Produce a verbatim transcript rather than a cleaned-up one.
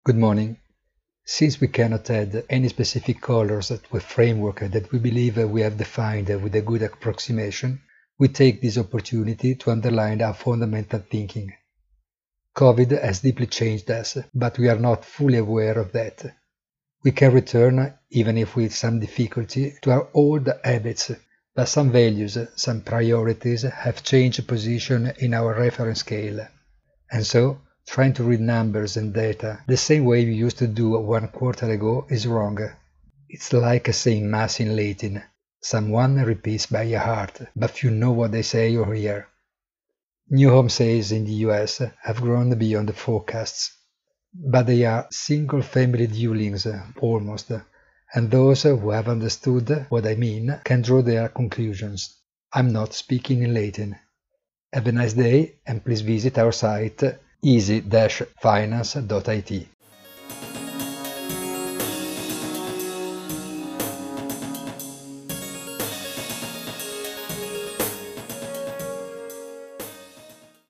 Good morning. Since we cannot add any specific colors to a framework that we believe we have defined with a good approximation, we take this opportunity to underline our fundamental thinking. COVID has deeply changed us, but we are not fully aware of that. We can return, even if with some difficulty, to our old habits, but some values, some priorities have changed position in our reference scale. And so, trying to read numbers and data the same way we used to do one quarter ago is wrong. It's like saying Mass in Latin. Someone repeats by heart, but few know what they say or hear. New home sales in the U S have grown beyond the forecasts, but they are single-family dwellings, almost, and those who have understood what I mean can draw their conclusions. I'm not speaking in Latin. Have a nice day, and please visit our site easy dash finance dot I T.